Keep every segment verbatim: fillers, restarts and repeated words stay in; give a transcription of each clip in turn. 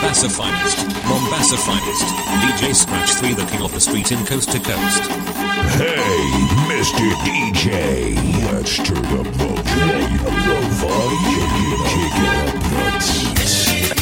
Mombasa finest, Mombasa finest. D J Scratch three, the king of the street in coast to coast. Hey, Mister D J, let's turn up the volume, the volume, kick it up the beats.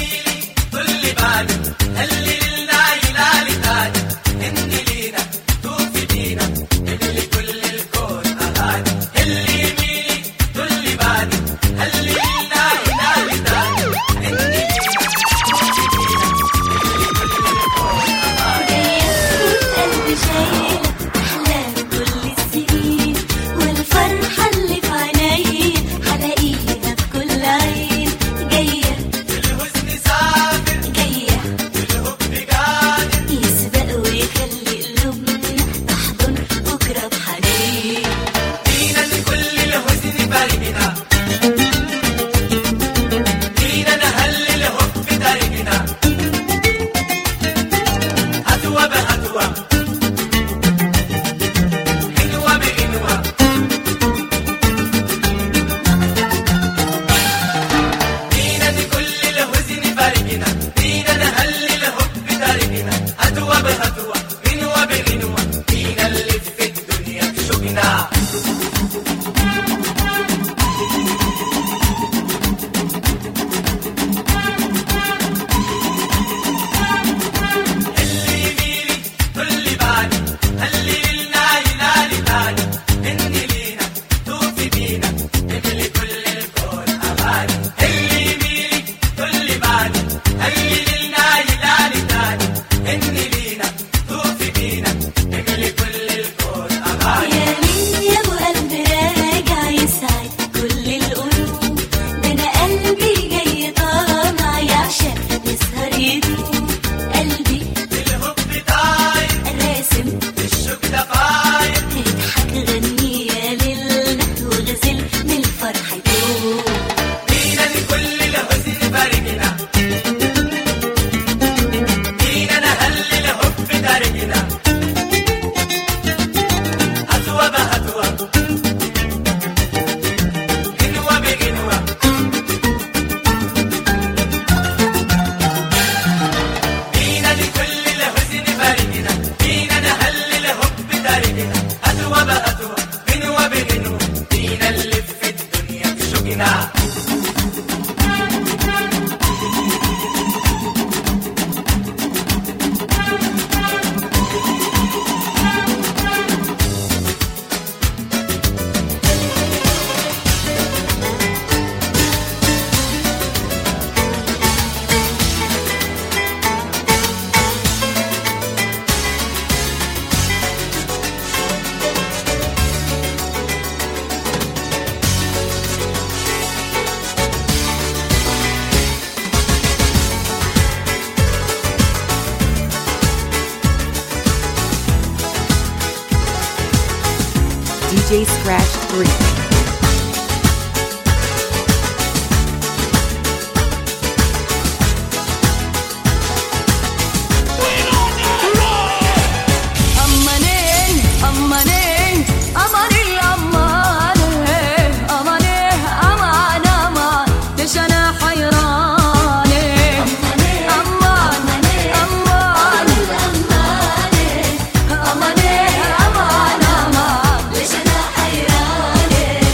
D J Scratch three. Yeah.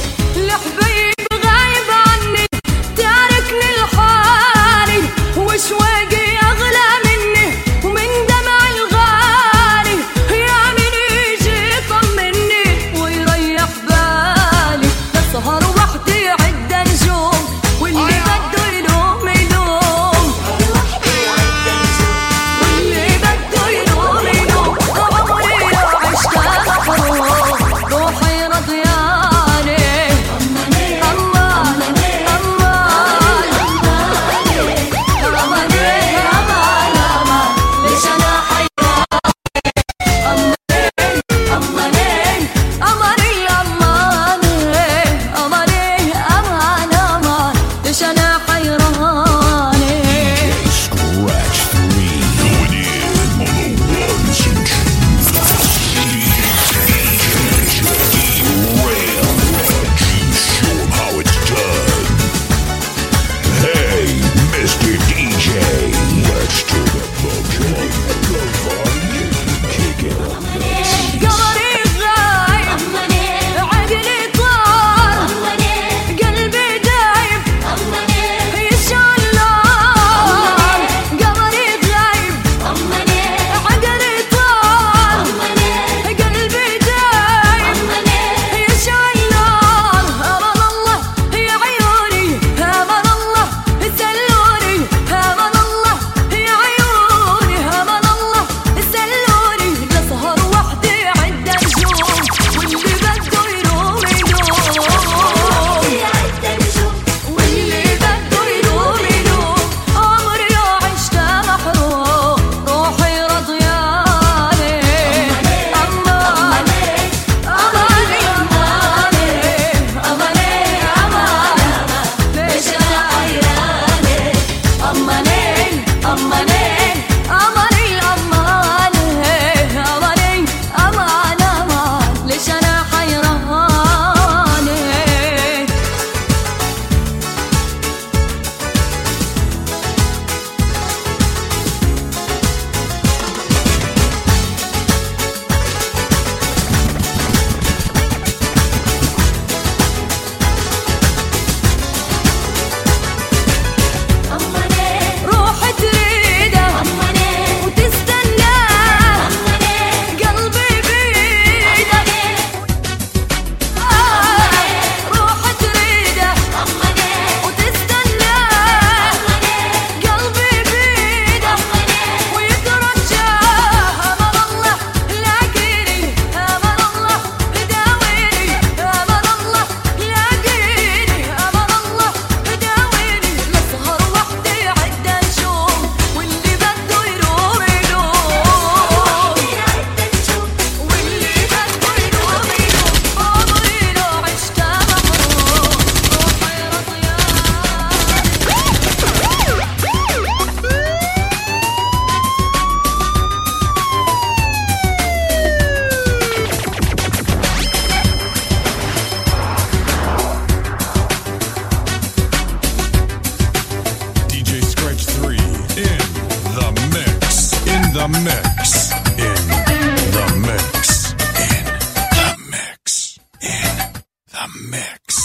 mix.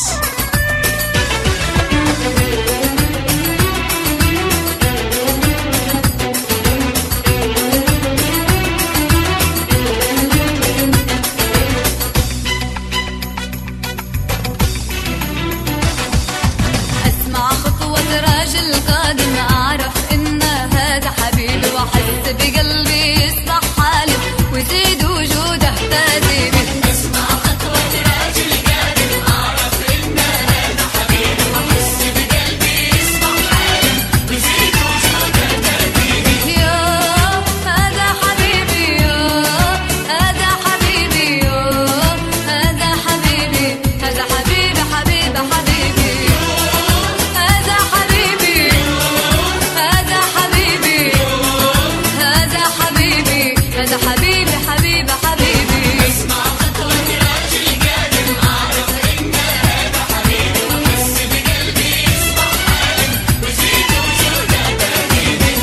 أسمع خطوة راجل قادم، أعرف إن هذا حبيبي، وأحس بقلبي يصبح حالي ويزيد وجوده تهذيبي. أسمع خطوة راجل قادم، أعرف إن هذا حبيبي، وأحس بقلبي يصبح حالي ويزيد وجوده تهذيبي. يا هذا حبيبي، يا هذا حبيبي، يا هذا حبيبي، هذا حبيبي حبيبي حبيبي. هذا حبيبي، هذا حبيبي، هذا حبيبي، هذا حبيبي حبيبي حبيبي. اسمع خطوة راجل قادم، أعرف إن هذا حبيبي، وأحس بقلبي يصبح حالي ويزيد وجوده تهذيبي.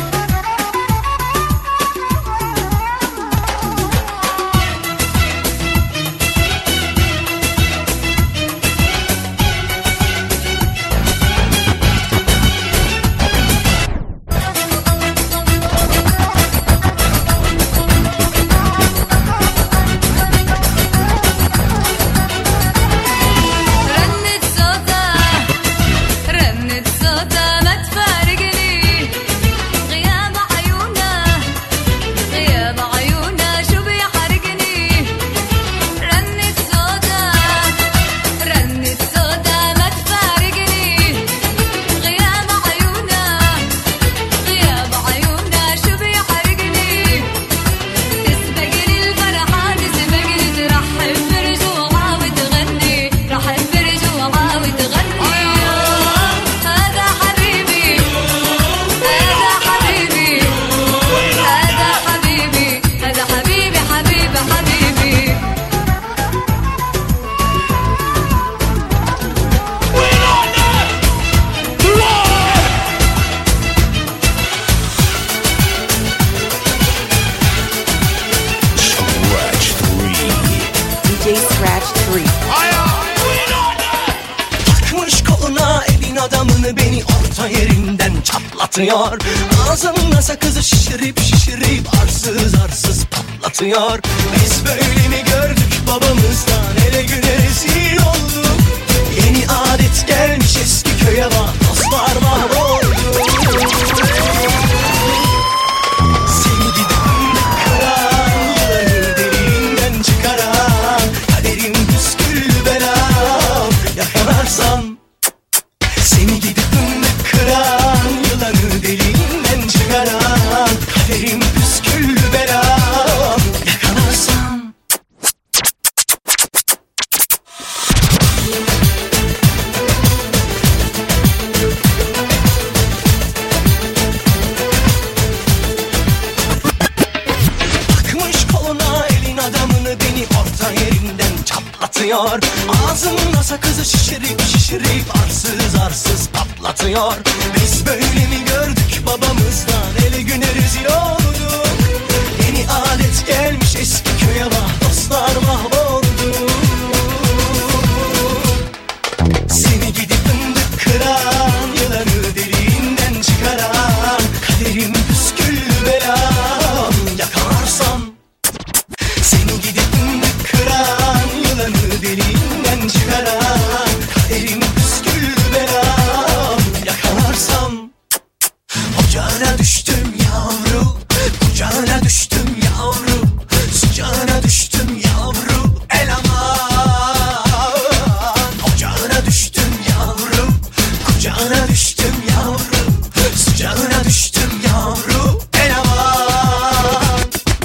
رنت صوتها، رنت صوتها ما تفارقني، غياب عيونها، غياب عيونها شو بيحرقني. رنت صوتها، رنت صوتها ما تفارقني، غياب عيونها، غياب عيونها شو بيحرقني. تسبقني الفرحة، تسبقني ترحب برجوعها وتغني، رحب برجوعها وتغني. هذا حبيبي، هذا حبيبي، هذا حبيبي، هذا حبيبي حبيبي حبيبي. Scratch three. D J Scratch three. Takmış koluna elin adamını, beni orta yerinden çatlatıyor. Ağzımla sakızı şişirip şişirip arsız arsız patlatıyor. Biz böyle mi gördük babamızdan, ele güne rezil olduk. Yeni adet gelmiş eski köye bak, dostlar mahvoldu. Seni gidip kıran, yılanı derinden çıkaran, kaderim püskül belam, yakalarsan. Seni gidip kıran, yılanı derinden çıkaran, kaderim püskül belam, yakalarsan. Takmış koluna elin adamını, beni orta yerinden çatlatıyor. Ağzımla sakızı şişirip şişirip arsız arsız patlatıyor. Biz böyle mi gördük babamızdan, ele güne rezil olduk. Yeni adet gelmiş eski köye bak, dostlar mahvoldu. Seni gidip fındık kıran, yılanı deliğinden çıkaran, kaderim püskül belam, yakalarsan. Seni gidip fındık kıran, yılanı deliğinden çıkaran, kaderim püskül belam, yakalarsan. Ocağına düştüm yavru, kucağına düştüm yavru, sıcağına düştüm yavru, el aman. Ocağına düştüm yavru, kucağına düştüm yavru, sıcağına düştüm yavru, el aman.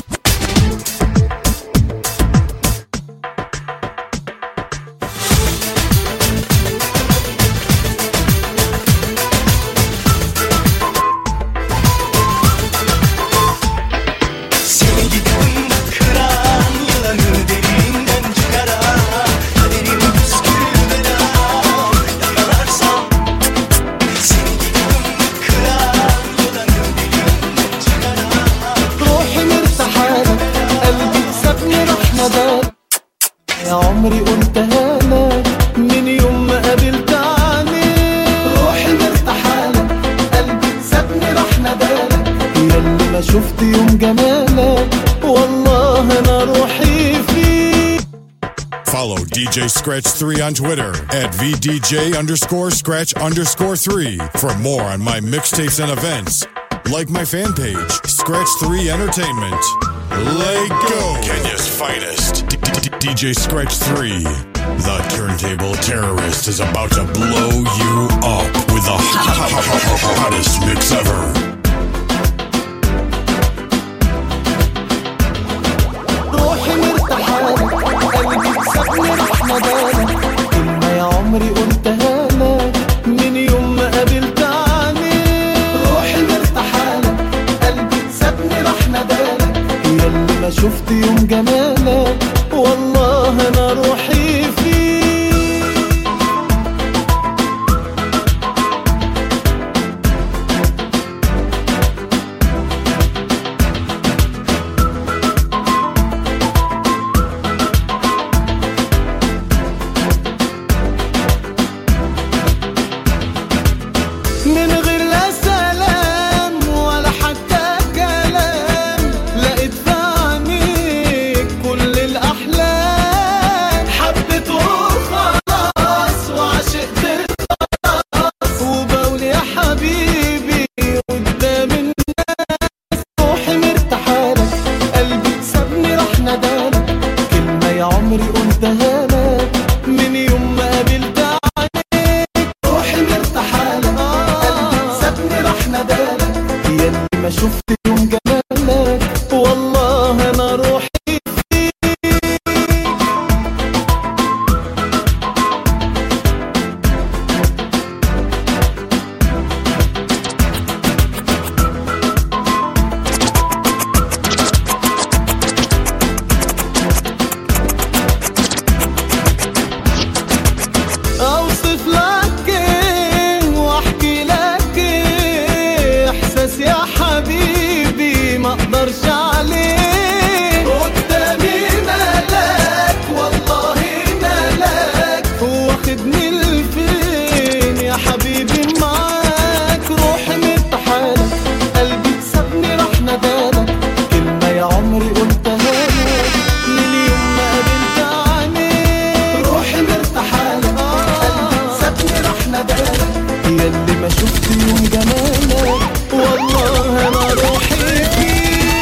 Seni gidip kıran, yılanı derinden çıkaran, kaderim püskül belam, yakalarsan. Seni gidip kıran, yılanı derinden çıkaran. روحي مرتاحالك، قلبي سابني راح نداك، يا عمري قلتها لك. من يوم ما قابلت عينيك. روحي مرتاحالك قلبي سابني راح ندالك، ياللي ما شفت يوم جمالك والله انا روحي فيك. Follow D J Scratch three on Twitter at V D J underscore Scratch underscore three for more on my mixtapes and events. Like my fan page, Scratch three Entertainment. Let go! Kenya's finest, D J Scratch three. The turntable terrorist is about to blow you up with the hottest mix ever. روحي مرتاحالك قلبي سابني راح ندالك، كلمة يا عمري قلتها لك من يوم ما قابلت عينيك. روحي مرتاحالك قلبي سابني راح ندالك، ياللي ما شفت يوم جمالك والله انا روحي فيك. من غير لا سلام ولا حتى كلام، لقيت في عينيك كل الأحلام. حبيت وخلاص وعشقت خلاص، وبقول يا حبيبي قدام الناس. روحي مرتاحالك قلبي سابني راح ندالك، كلمة يا عمري قلتها لك من يوم ما قابلت عينيك. روحي مرتاحالك قلبي سابني راح ندالك، ياللي ما شفت يوم جمالك والله انا روحي فيك. اوصف لك ايه واحكي لك ايه، احساس يا حبيبي ما اقدرش عليه. قدامي ملاك والله ملاك، واخدني لفين يا حبيبي معاك. روحي مرتاحالك قلبي سابني راح ندالك، كلمة يا عمري قلتها لك من يوم ما قابلت عينيك. روحي مرتاحالك قلبي سابني راح ندالك، ياللي ما شفت يوم جمالك والله انا روحي فيك.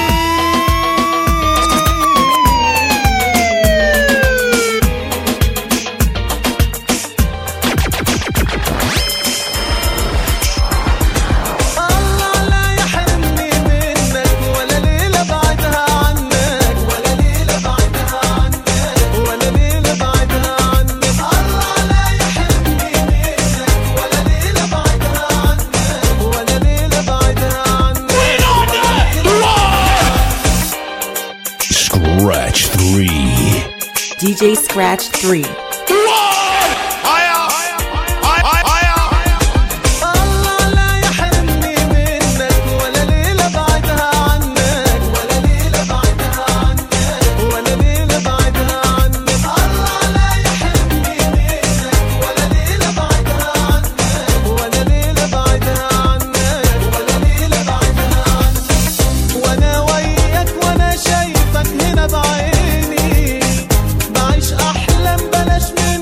الله لا يحرمني منك ولا ليلة بعدها عنك، ولا ليلة بعدها عنك، ولا ليلة بعدها عنك. الله لا يحرمني منك ولا ليلة بعدها عنك، ولا ليلة بعدها عنك. Scratch three. D J Scratch three. الله لا يحرمني منك ولا ليلة بعدها عنك، ولا ليلة بعدها عنك، ولا ليلة بعدها عنك. الله لا يحرمني منك ولا ليلة بعدها عنك، ولا ليلة بعدها عنك، ولا ليلة بعدها عنك. وانا وياك وانا شايفك هنا بعيني، بعيش احلام بلاش من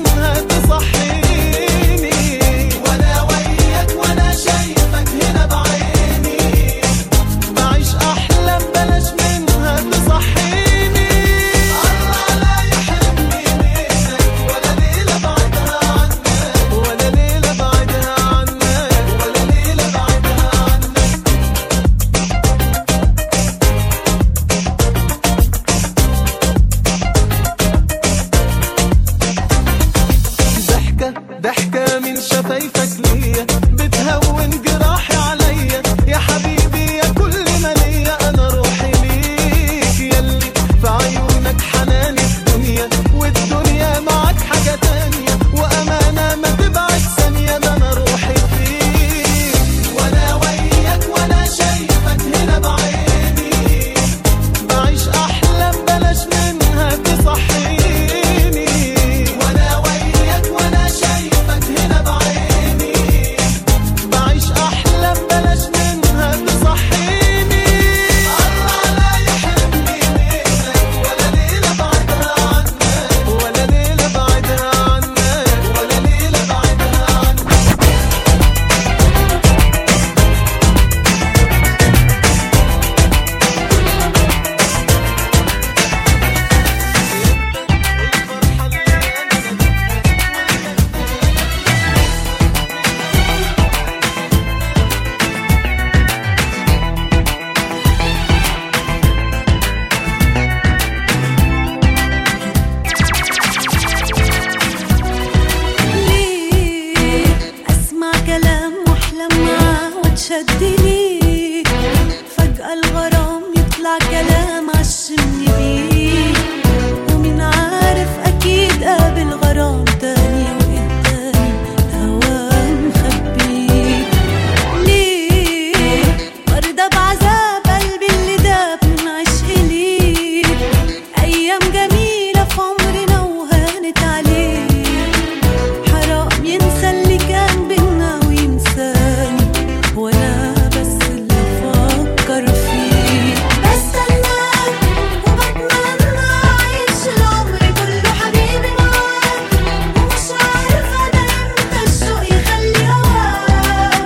شد ليك، فجأة الغرام يطلع كلام عشمني بيه، ومين عارف أكيد قابل غرام تاني وقدامي الهوا مخبيه. ليه مرضى بعذاب قلبي اللي داب من عشق ليك، أيام جميلة في عمرنا وهانت عليه، حرام ينسى اللي كان بينا وينساني، وانا بس اللي افكر فيه. بستناك وبتمنى اعيش العمر كله حبيبي معاك، ومش عارفة ده امتى الشوق يخلي هواك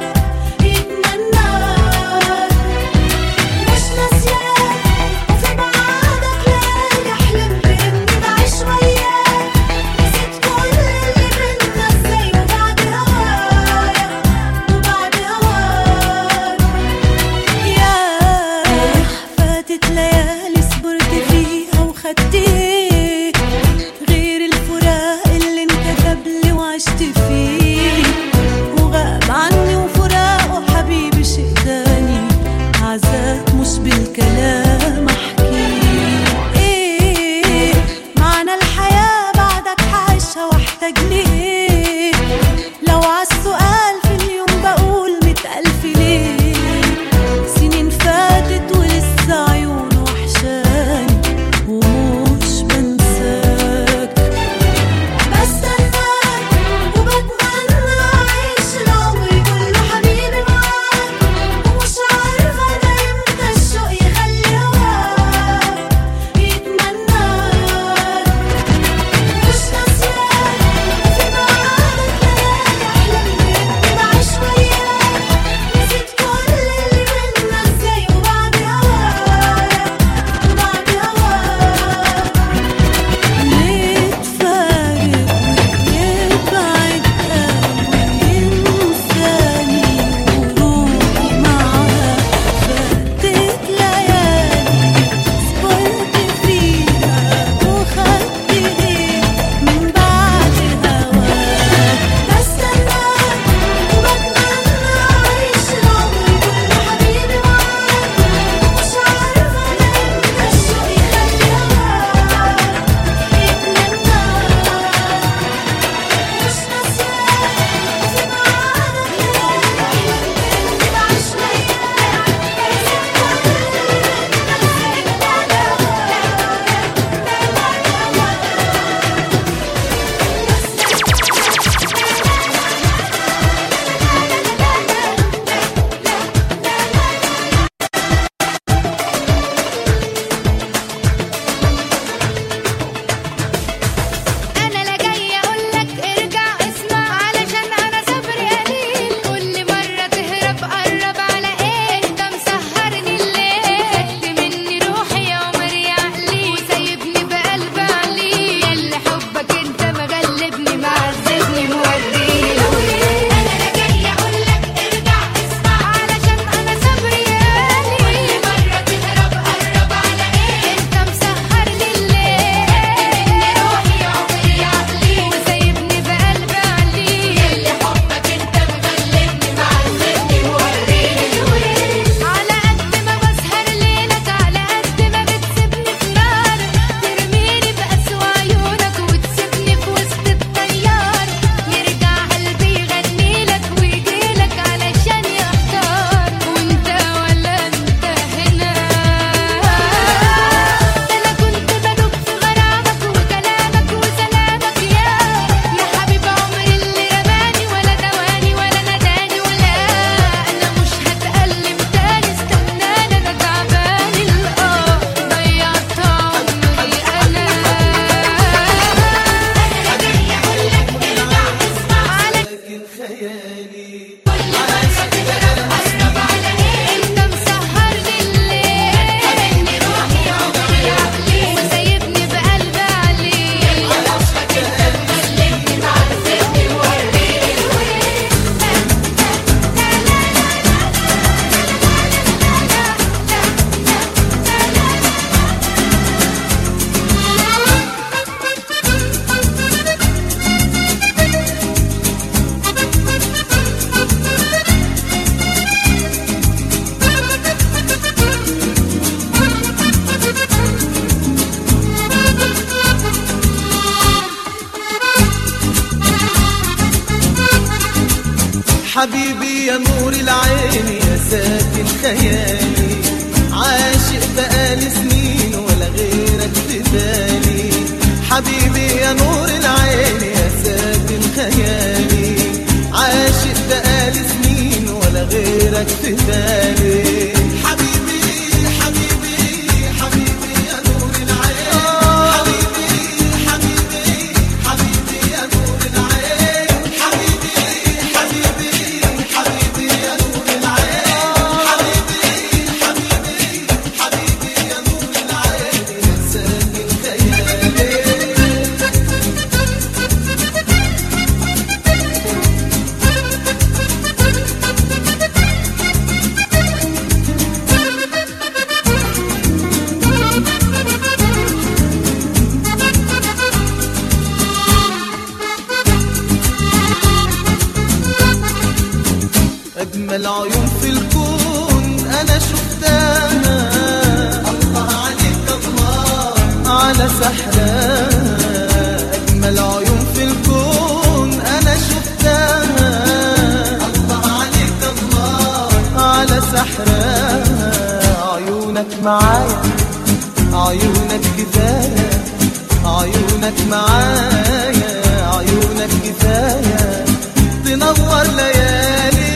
يتمناك، مش ناسياك وفي بعادك ليالي حلمت اني بعيش وياك، نسيت كل اللي بينا ازاي وبعد هوايا وبعد هواك. ياه فاتت ليالي صبرت فيها وخدت ايه غير الفراق اللي انكتب لي وعشت فيه، وغاب عني وفراقه حبيبي شيء تاني، عذاب مش بالكلام احكيه. ايه معنى الحياة بعدك حعيشها واحتاج ليه، لو عالسؤال في اليوم بقول مئة ألف ليه، سنين فاتت ولسه عيونه وحشاني ومش بنساك. بستناك وبتمنى اعيش العمر كله حبيبي معاك، ومش عارفة ده امتى الشوق يخلي هواك يتمناك، مش ناسياك وفي حبيبي يا نور العين يا ساكن خيالي، عاشق بقالي سنين ولا غيرك في بالي. حبيبي يا نور العين يا ساكن خيالي، عاشق بقالي سنين ولا غيرك في بالي. حبيبي حبيبي حبيبي يا نور العين، حبيبي حبيبي حبيبي يا نور العين، حبيبي حبيبي حبيبي يا نور العين، حبيبي حبيبي حبيبي يا نور العين يا ساكن خيالي. أجمل عيون في الكون أنا شفتها، الله عليك الله على سحرها. أجمل عيون في الكون أنا شفتها، الله عليك الله على سحرها. عيونك معايا عيونك كفاية، عيونك معايا عيونك كفاية تنور ليالي.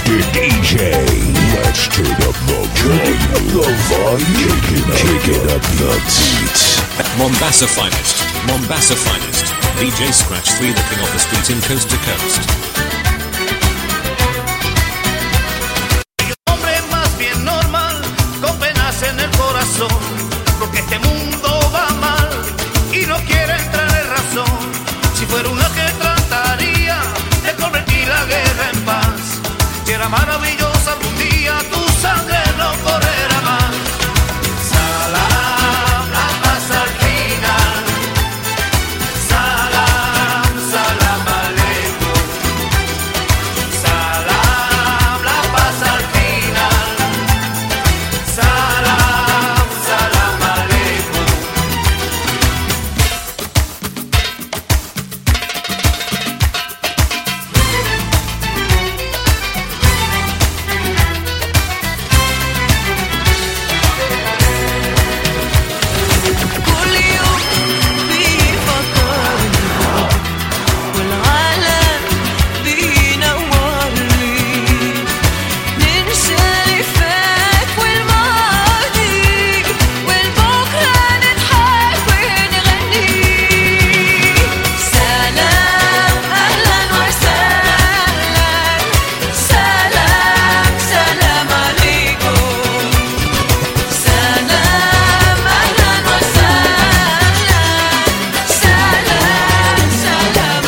Mister D J. Let's turn up the volume. The volume. Kick it up the beat. Mombasa finest, Mombasa finest. D J Scratch three, the king of the street in coast to coast. Hombre más bien normal, con penas en el corazón, porque este mundo va mal y no quiere entrar en razón. Si fuera una que trataría de convertir la guerra en paz, si era maravillosa algún día tu sangre no correrá más. Salam, la paz al final. Salam, salam aleikum. Salam, la paz al final. Salam, salam aleikum. كل يوم بيفكرني والعالم بينورني ننسى اللي فات والماضي والبكرة نضحك ونغني سلام أهلا وسهلا سلام سلام عليكم سلام أهلا وسهلا سلام سلام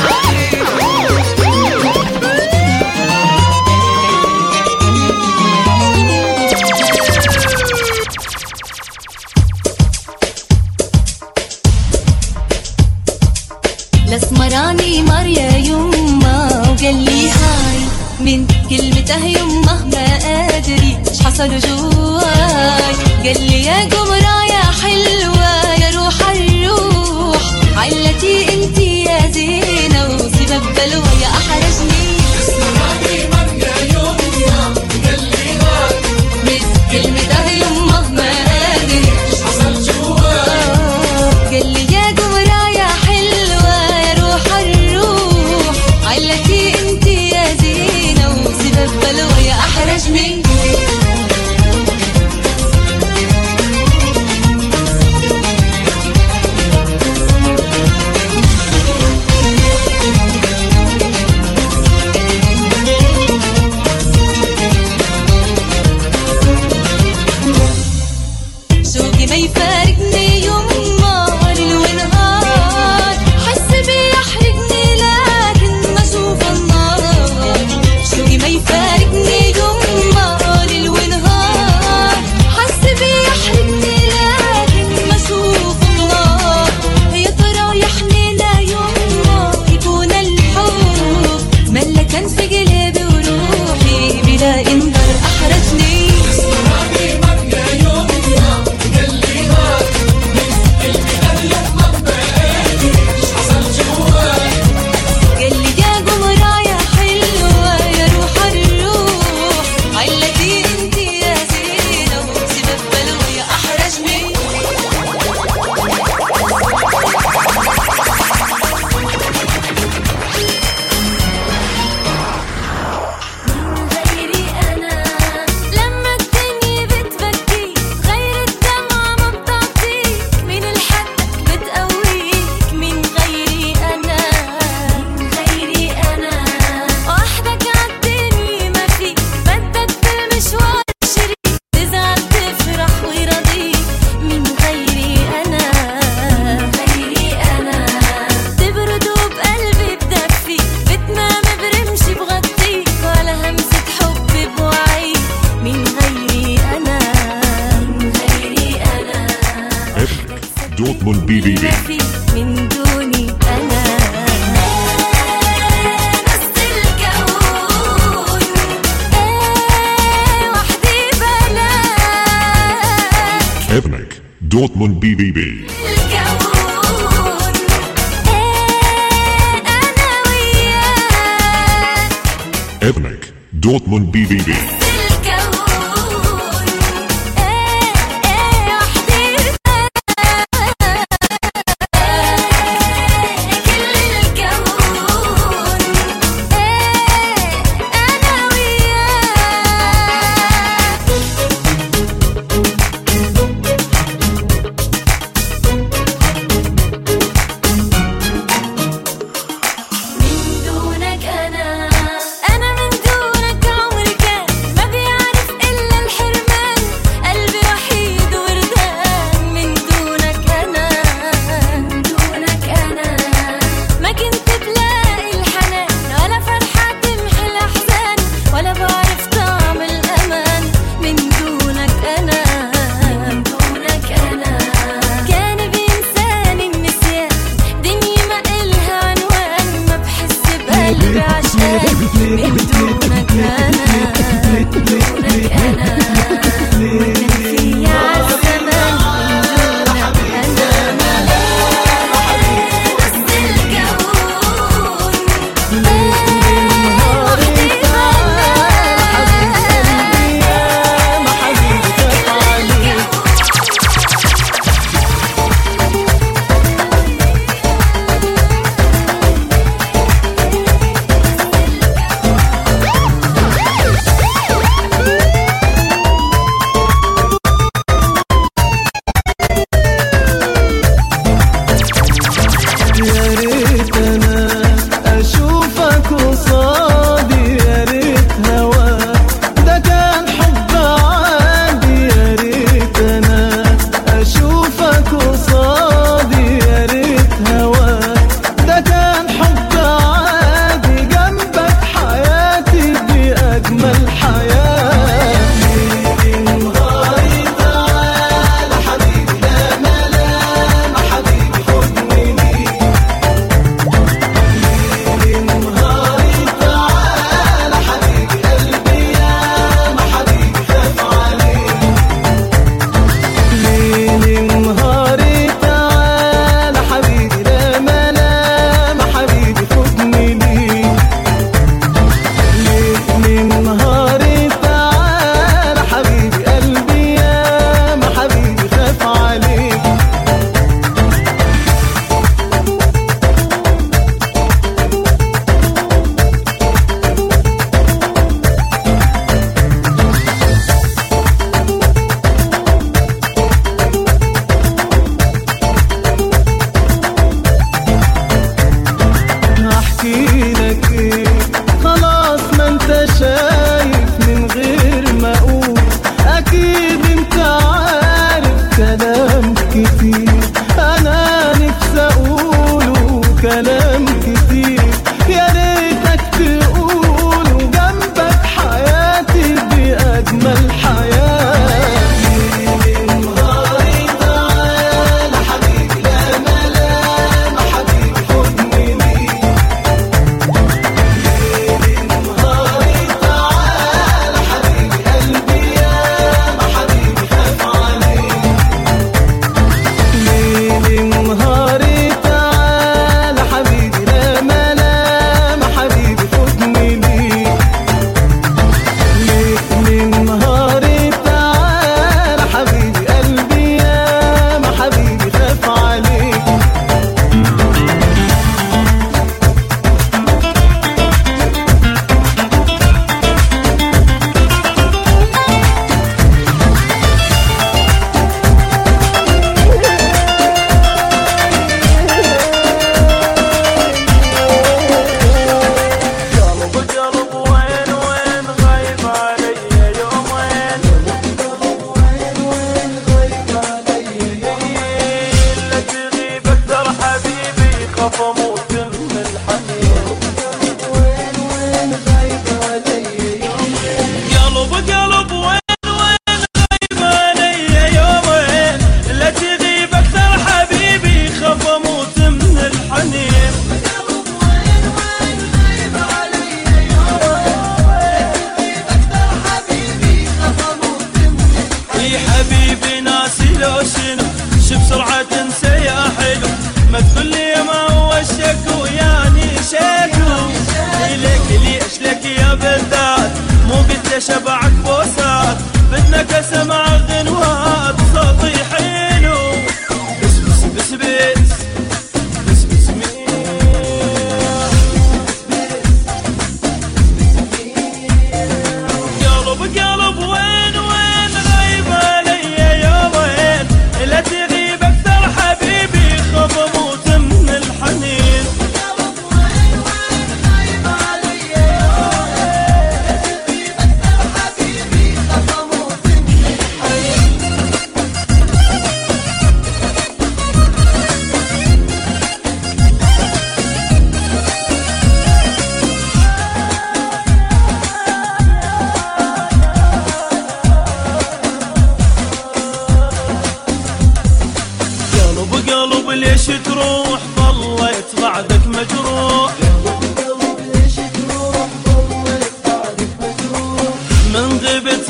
الاسمراني مر يا يما وقال لي هاي من كلمته يما ما ادري ايش حصل جواي قال لي يا قمرة يا حلوة يا روح الروح علتي انتي يا زينة وسبب بلوى يا احرجني من كلمته يما ما ادري ايش حصل جواي قال لي يا قمرة يا حلوة يا روح الروح علتي انتي يا زينة وسبب بلوى يا احرجني شوقي ما يفارقني يما ليل ونهار حس بيحرقني لكن ما اشوف النار شوقي ما يفارقني يما ليل ونهار حس بيحرقني لكن ما اشوف النار يا ترى يحنينا يما يكون الحب ملكا في قلبي وروحي بلا انذار احرجني قال لي يا قمرة يا حلوة يا روح الروح علتي انتي يا زينة وسبب بلوى يا احرجني غيري انا لما الدنيا بتبكي غير الدمعة ما بتعطيك من الحدك بتقويك من غيري انا غيري انا وحدك عالدنيا ما فيك بدك بالمشوار شريك تزعل تفرح ويرضيك من غيري انا غيري انا تبرد وبقلبي بدفيك بتنام برمشي بغطيك ولا همسة حب بوعيك من غيري انا من غيري انا Dortmund بي بي بي. ما فيك من دوني انا نص الكون ايه وحدي بلاك Ebnek. Dortmund بي بي بي. الكون ايه انا وياك Ebnek. Dortmund بي بي بي. الكون ايه ايه وحدي كل الكون ايه انا وياك من دونك أنا دونك أنا كان في عالزمان من دونك أنا نص الكون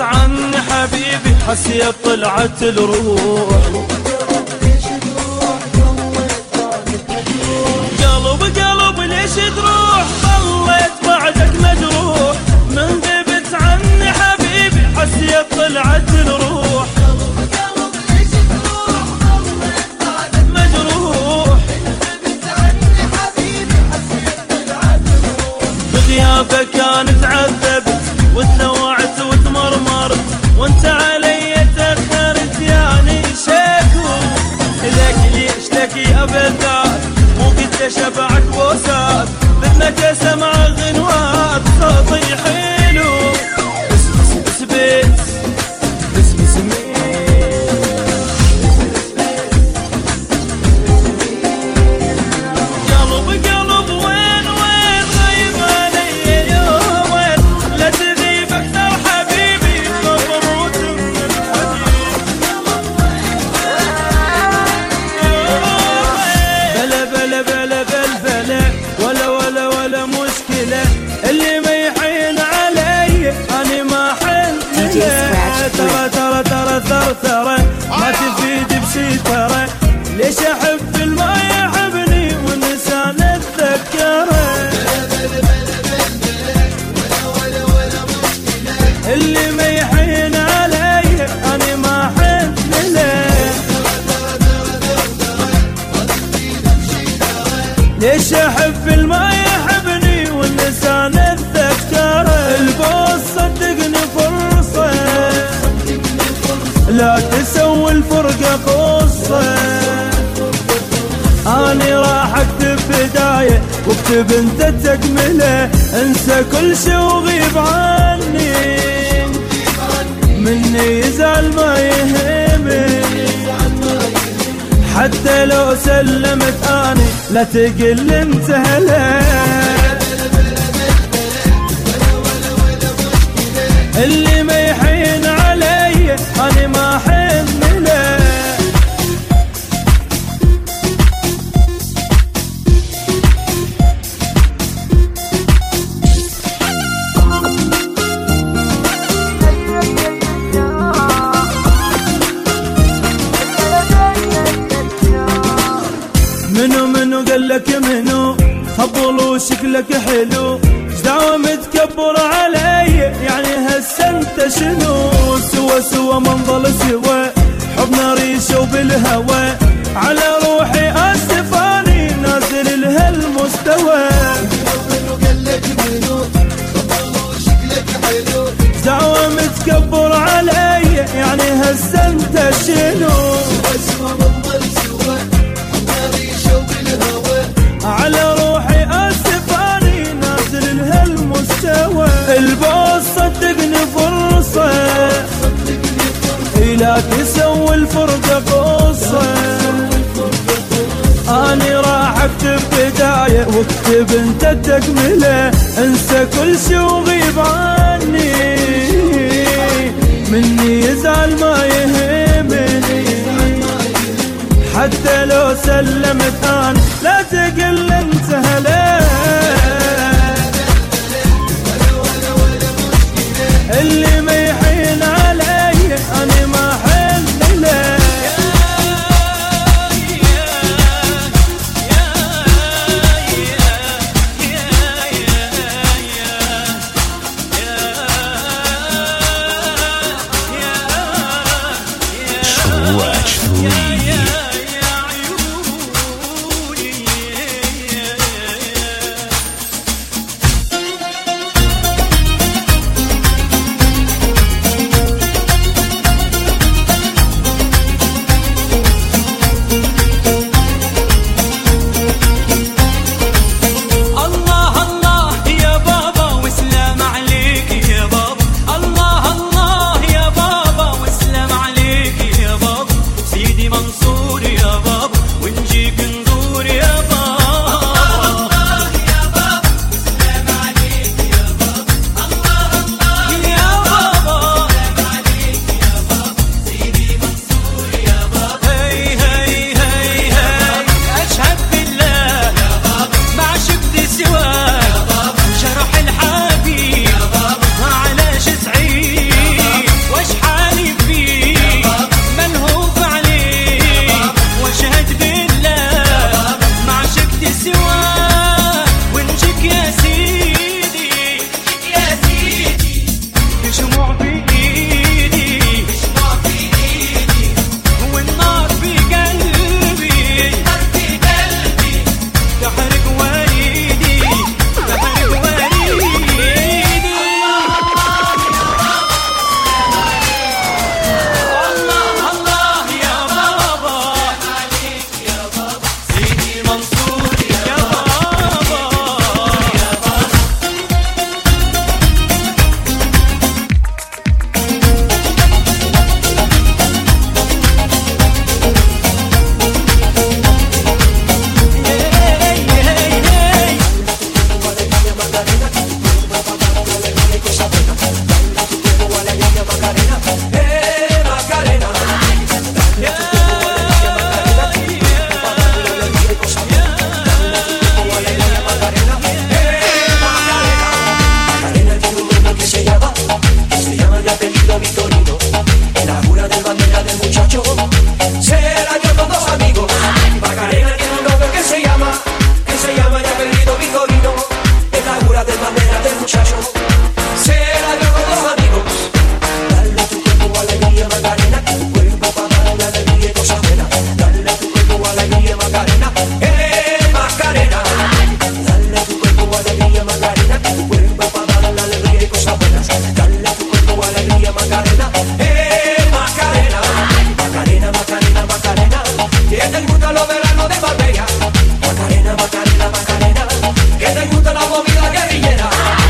غبت عني حبيبي حسيت طلعت الروح. قلب قلب ليش تروح ضليت بعدك مجروح، من غبت عني حبيبي حسيت طلعت الروح. بغيابك انا تعذبت وتلوعت وتمرمرت، وانت علي تاخرت يعني شكو. لك ليش لك يا بذات مو قد شبعك بوسات، مثلك سمع غنوات صوتي حلو. بس بس بس بس بس بس قلب قلب وين وين غيب علي يومين، لا تغيب اكثر حبيبي مبروك من الحديد. بلا بلا بلا بلا بلا ولا ولا ولا مشكلة، اللي ما يحين علي أنا ما حن له. ترى ترى ترى ثرثرة ما تفيد بشي ترى، ليش أحب الما يحبني والنسان أتذكره. اللي ما يحين علي أنا ما حن له، ليش أحب الما يحبني والنسان أتذكره. البوس صدقني فرصة لا تسوي الفرقة قصة، أنا راح أكتب بداية واكتب أنت تكملة. انسى كل شي وغيب عني، مني يزعل ما يهمني، حتى لو سلمت أنا لا تقل انت هلا. اللي ما يحين علي أنا ما حن له. منو منو قالك منو خبل وشكلك حلو، دعوة متكبر علي يعني هسه انت شنو. سوا سوا منظل سوا حبنا ريشه وبالهوى، على روحي اسفاني نازل لهالمستوى. دعوة متكبر علي يعني هسه انت شنو. على روحي اسفاني نازل لهالمستوى. البوس صدقني فرصة لا تسوي الفرقة قصة، أنا راح أكتب بداية واكتب أنت تكملة. انسى كل شي وغيب عني، مني يزعل ما يهمني، حتى لو سلمت أنا لا تقل انت هلا. اللي ما يحين علي أنا ما حن له. Scratch three. muchachos, será yo con los amigos. Dale tu cuerpo alegría Macarena, tu cuerpo para dar la alegría y cosas buenas. Dale tu cuerpo alegría Macarena, eh Macarena. Dale tu cuerpo alegría Macarena, tu cuerpo para dar la alegría y cosas buenas. Dale tu cuerpo alegría Macarena, eh Macarena. Macarena, Macarena, Macarena, que te gusta los veranos de Marbella. Macarena, Macarena, Macarena, que te gusta la movida guerrillera.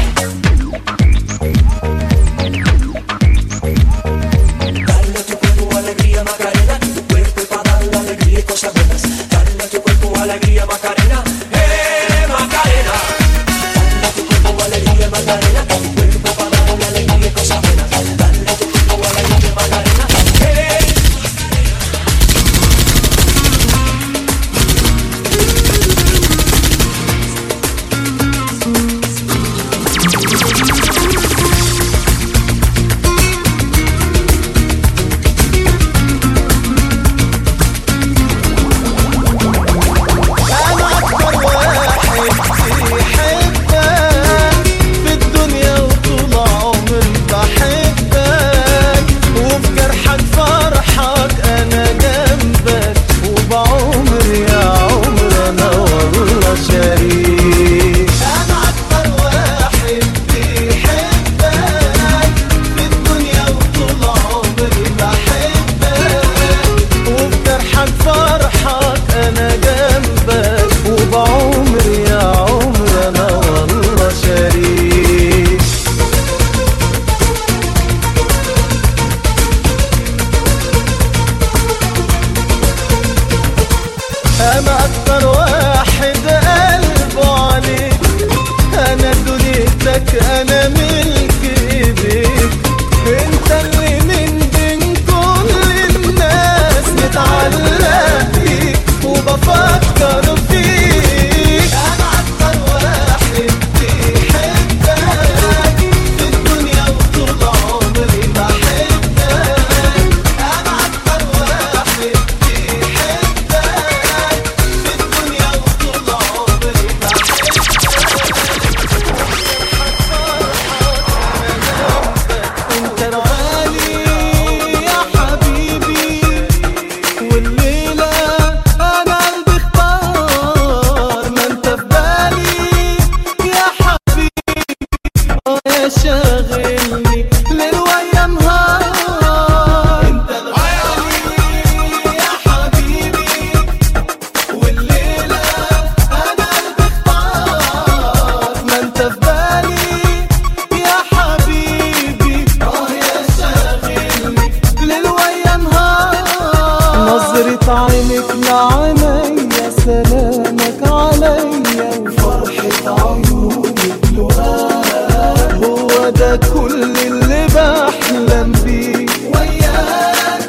Dale tu cuerpo alegría Macarena, tu cuerpo para dar la alegría y cosas buenas. Dale tu cuerpo alegría Macarena, eh Macarena. Dale tu cuerpo alegría Macarena, tu cuerpo para dar la alegría y cosas buenas. Dale tu cuerpo alegría Macarena, eh أنا أكتر واحد بيحبك في الدنيا وطول عمري بحبك وفي جرحك فرحك أنا جنبك وبعمري يا عمر أنا والله شريك. أنا أكتر واحد بيحبك في الدنيا وطول عمري بحبك وفي جرحك فرحك أنا جنبك وبعمري يا عمر أنا والله شريك. أنا أكتر واحد قلبه عليك، أنا دنيتك أنا ملك إيديك، أنت اللي من بين كل الناس متعلق بيك وبفكر فيك. أنا أكتر واحد بيحبك في الدنيا وطول عمري بحبك. أنا أكتر واحد بيحبك في الدنيا وطول عمري بحبك. انت الغالي يا حبيبي والليلة انا قلبي اختار ما انت في بالي يا حبيبي يا شاغلني ليل ويا نهار. انت الغالي يا حبيبي والليلة انا قلبي اختار ما انت في بالي يا حبيبي اه يا شاغلني ليل ويا نهار. نظرة عينك لعينيا سلامك عليا وفرحة عيونك لقاك هو ده كل اللي بحلم بيه وياك.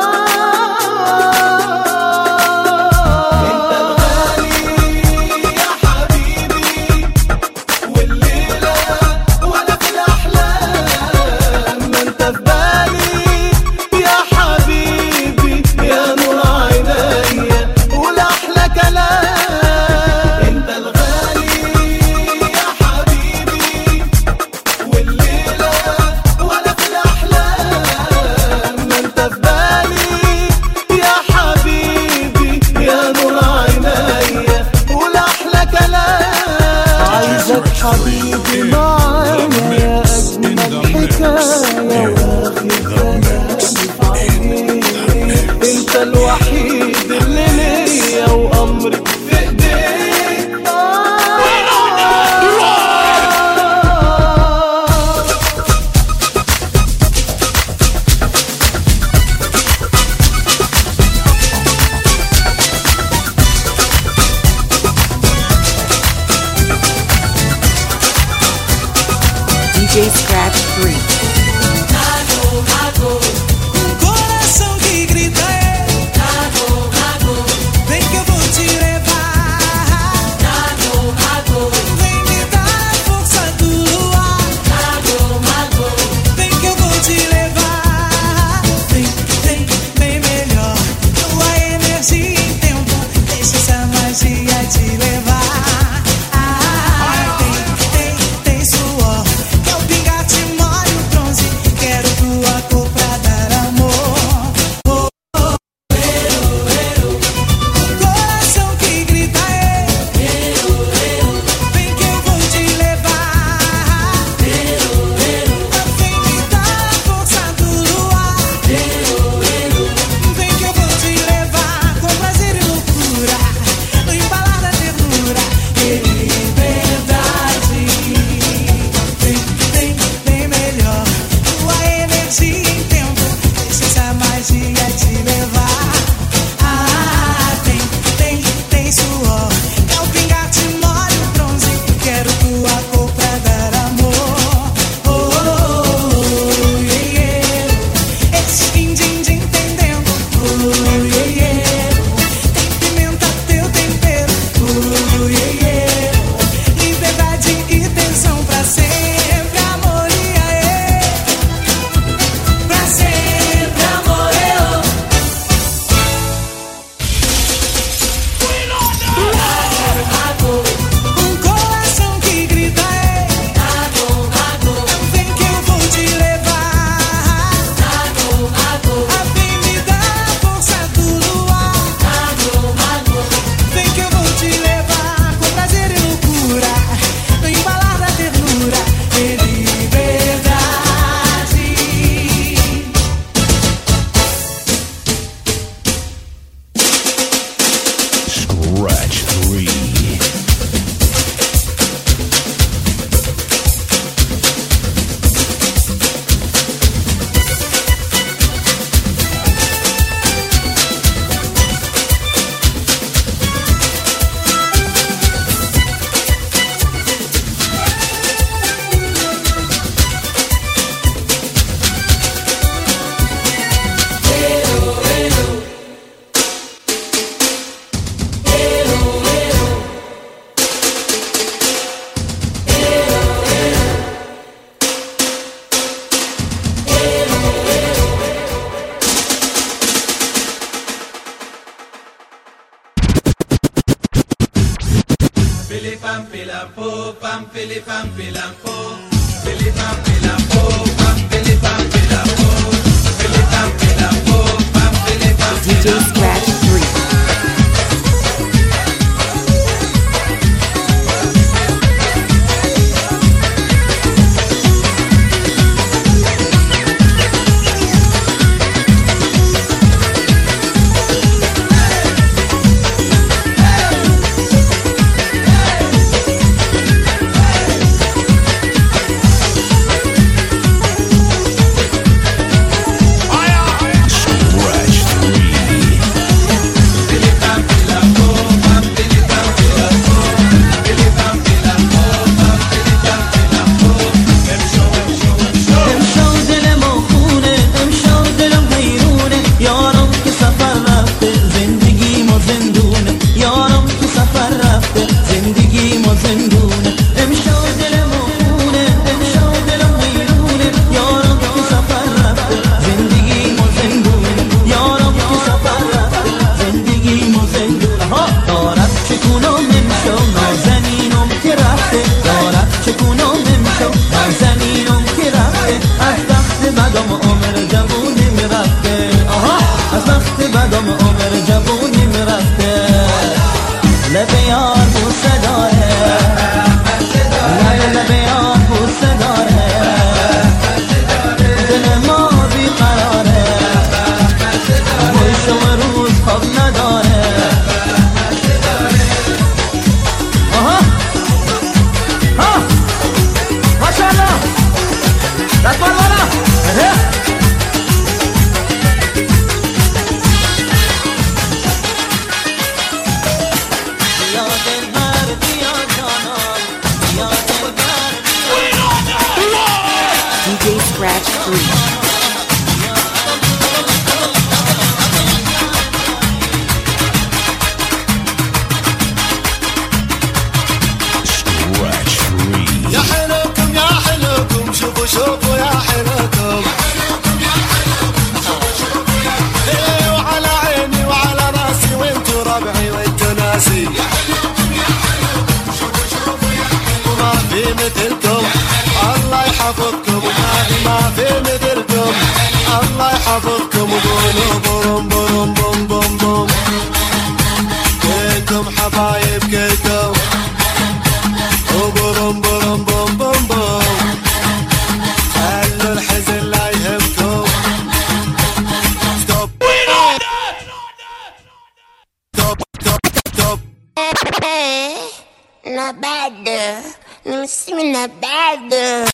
انت الغالي يا حبيبي والليلة وانا في الاحلام ما انت في بالي يا حبيبي يا نور عينيا والاحلى كلام. انت الغالي يا حبيبي والليلة وانا في الاحلام ما انت في بالي يا حبيبي يا نور عينيا والاحلى كلام. عايزك حبيبي معايا يا اجمل حكايه واخد كلامي في عينيك. انت الوحيد اللي ليا وامري في ايديك. D J Scratch three. Um coração que grita é vem que eu vou te levar. Vem me dar a força do luar. Vem que eu vou te levar. Vem, vem, vem melhor. Tua energia em tempo deixa essa magia te levar. Ah, tem, tem, tem suor. D J Scratch three. Scratch three. يا حلوكم يا حلوكم شوفوا شوفوا يا حلوكم ايه وعلى عيني وعلى راسي وانتو ربعي وانتو ناسي وما في مثلكم الله يحفظكم ما في مثلكم الله يحفظكم وقولوا